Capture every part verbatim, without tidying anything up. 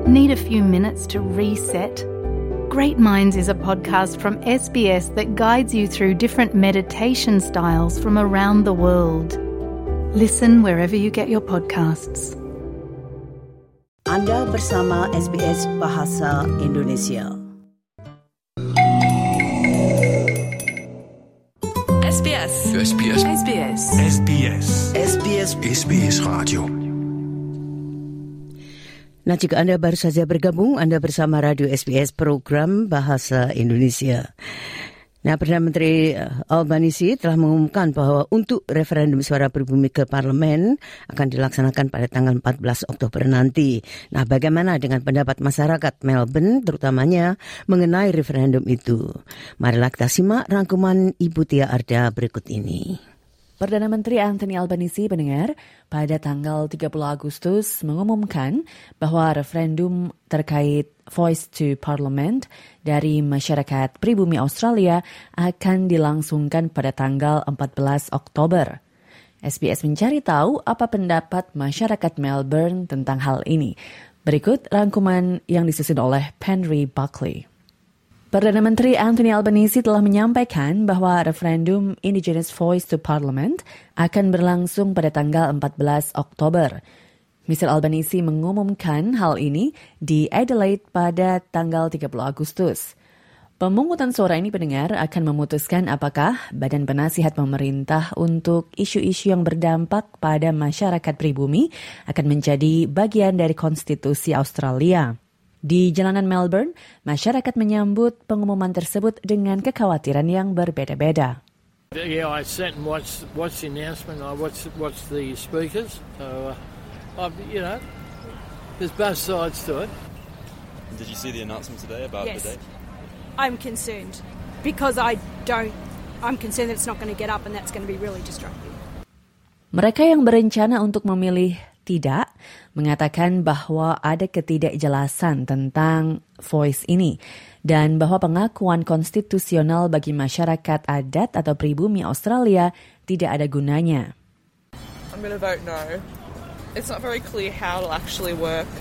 Need a few minutes to reset? Great Minds is a podcast from S B S that guides you through different meditation styles from around the world. Listen wherever you get your podcasts. Anda bersama S B S Bahasa Indonesia. S B S. S B S. S B S. S B S. S B S. S B S Radio. Nah, jika Anda baru saja bergabung, Anda bersama Radio S B S Program Bahasa Indonesia. Nah, Perdana Menteri Albanese telah mengumumkan bahwa untuk referendum suara pribumi ke parlemen akan dilaksanakan pada tanggal empat belas Oktober nanti. Nah, bagaimana dengan pendapat masyarakat Melbourne terutamanya mengenai referendum itu? Marilah kita simak rangkuman Ibu Tia Arda berikut ini. Perdana Menteri Anthony Albanese pendengar pada tanggal tiga puluh Agustus mengumumkan bahwa referendum terkait Voice to Parliament dari masyarakat pribumi Australia akan dilangsungkan pada tanggal empat belas Oktober. S B S mencari tahu apa pendapat masyarakat Melbourne tentang hal ini. Berikut rangkuman yang disusun oleh Penry Buckley. Perdana Menteri Anthony Albanese telah menyampaikan bahwa referendum Indigenous Voice to Parliament akan berlangsung pada tanggal empat belas Oktober. mister Albanese mengumumkan hal ini di Adelaide pada tanggal tiga puluh Agustus. Pemungutan suara ini pendengar akan memutuskan apakah Badan Penasihat Pemerintah untuk isu-isu yang berdampak pada masyarakat pribumi akan menjadi bagian dari konstitusi Australia. Di jalanan Melbourne, masyarakat menyambut pengumuman tersebut dengan kekhawatiran yang berbeda-beda. Yeah, I sat and watched, watched the announcement. I watched, watched the speakers. So, uh, I've, you know, there's both sides to it. Did you see the announcement today about yes. the date? I'm concerned because I don't, I'm concerned that it's not going to get up and that's going to be really destructive. Mereka yang berencana untuk memilih tidak mengatakan bahwa ada ketidakjelasan tentang voice ini dan bahwa pengakuan konstitusional bagi masyarakat adat atau pribumi Australia tidak ada gunanya. I'm going to vote no. It's not very clear how it'll actually work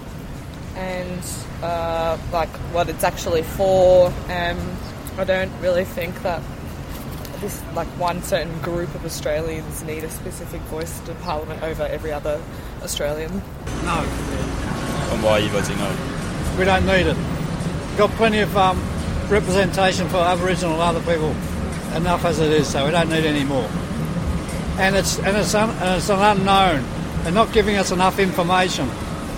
and uh, like what it's actually for. Um, I don't really think that this like one certain group of Australians need a specific voice to Parliament over every other Australian. No. And why are you voting no? We don't need it. We've got plenty of um, representation for Aboriginal and other people. Enough as it is, so we don't need any more. And it's and it's, un, and it's an unknown. They're not giving us enough information.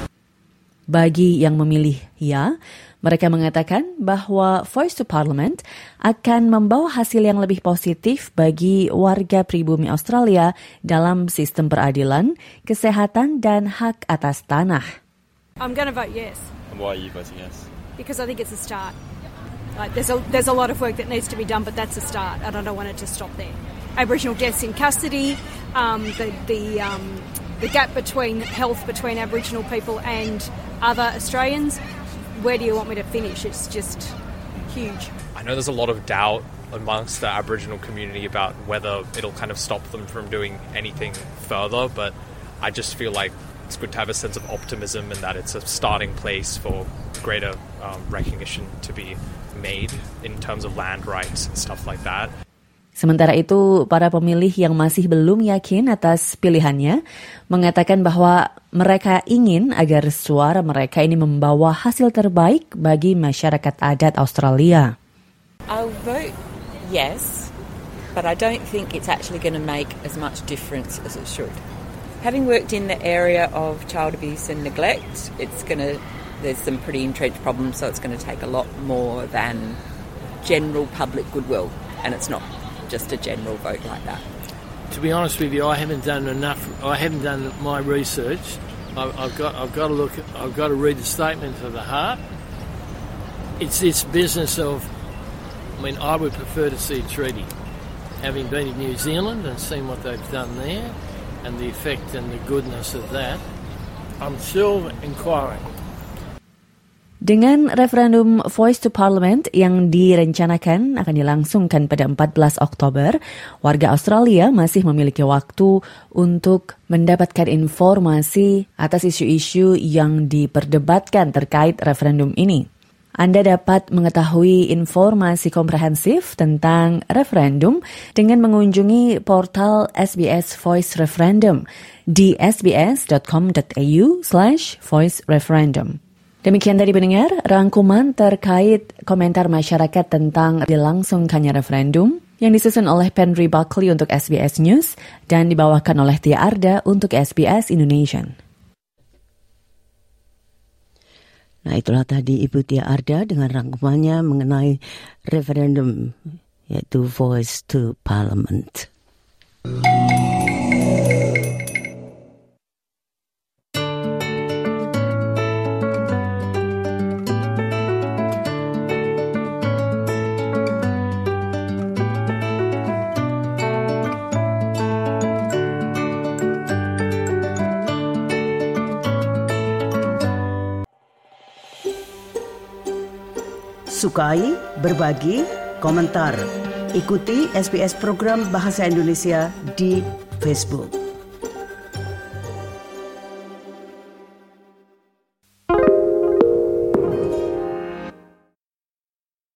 Bagi yang memilih ya, mereka mengatakan bahwa Voice to Parliament akan membawa hasil yang lebih positif bagi warga pribumi Australia dalam sistem peradilan, kesehatan, dan hak atas tanah. I'm going to vote yes. And why are you voting yes? Because I think it's a start. Like there's a there's a lot of work that needs to be done, but that's a start, and I don't want it to stop there. Aboriginal deaths in custody, um, the the um, the gap between health between Aboriginal people and other Australians. Where do you want me to finish? It's just huge. I know there's a lot of doubt amongst the Aboriginal community about whether it'll kind of stop them from doing anything further, but I just feel like it's good to have a sense of optimism and that it's a starting place for greater um, recognition to be made in terms of land rights and stuff like that. Sementara itu, para pemilih yang masih belum yakin atas pilihannya mengatakan bahwa mereka ingin agar suara mereka ini membawa hasil terbaik bagi masyarakat adat Australia. I'll vote yes, but I don't think it's actually going to make as much difference as it should. Having worked in the area of child abuse and neglect, it's going to there's some pretty entrenched problems, so it's going to take a lot more than general public goodwill, and it's not just a general vote like that. To be honest with you, I haven't done enough. I haven't done my research. I've, I've got. I've got to look. I've got to read the statement of the heart. It's this business of. I mean, I would prefer to see a treaty. Having been in New Zealand and seen what they've done there, and the effect and the goodness of that, I'm still inquiring. Dengan referendum Voice to Parliament yang direncanakan akan dilangsungkan pada empat belas Oktober, warga Australia masih memiliki waktu untuk mendapatkan informasi atas isu-isu yang diperdebatkan terkait referendum ini. Anda dapat mengetahui informasi komprehensif tentang referendum dengan mengunjungi portal S B S Voice Referendum di sbs.com.au slash voice referendum. Demikian tadi pendengar, rangkuman terkait komentar masyarakat tentang dilangsungkannya referendum yang disusun oleh Penry Buckley untuk S B S News dan dibawakan oleh Tia Arda untuk S B S Indonesian. Nah, itulah tadi Ibu Tia Arda dengan rangkumannya mengenai referendum, yaitu Voice to Parliament. Sukai, berbagi, komentar. Ikuti S B S program Bahasa Indonesia di Facebook.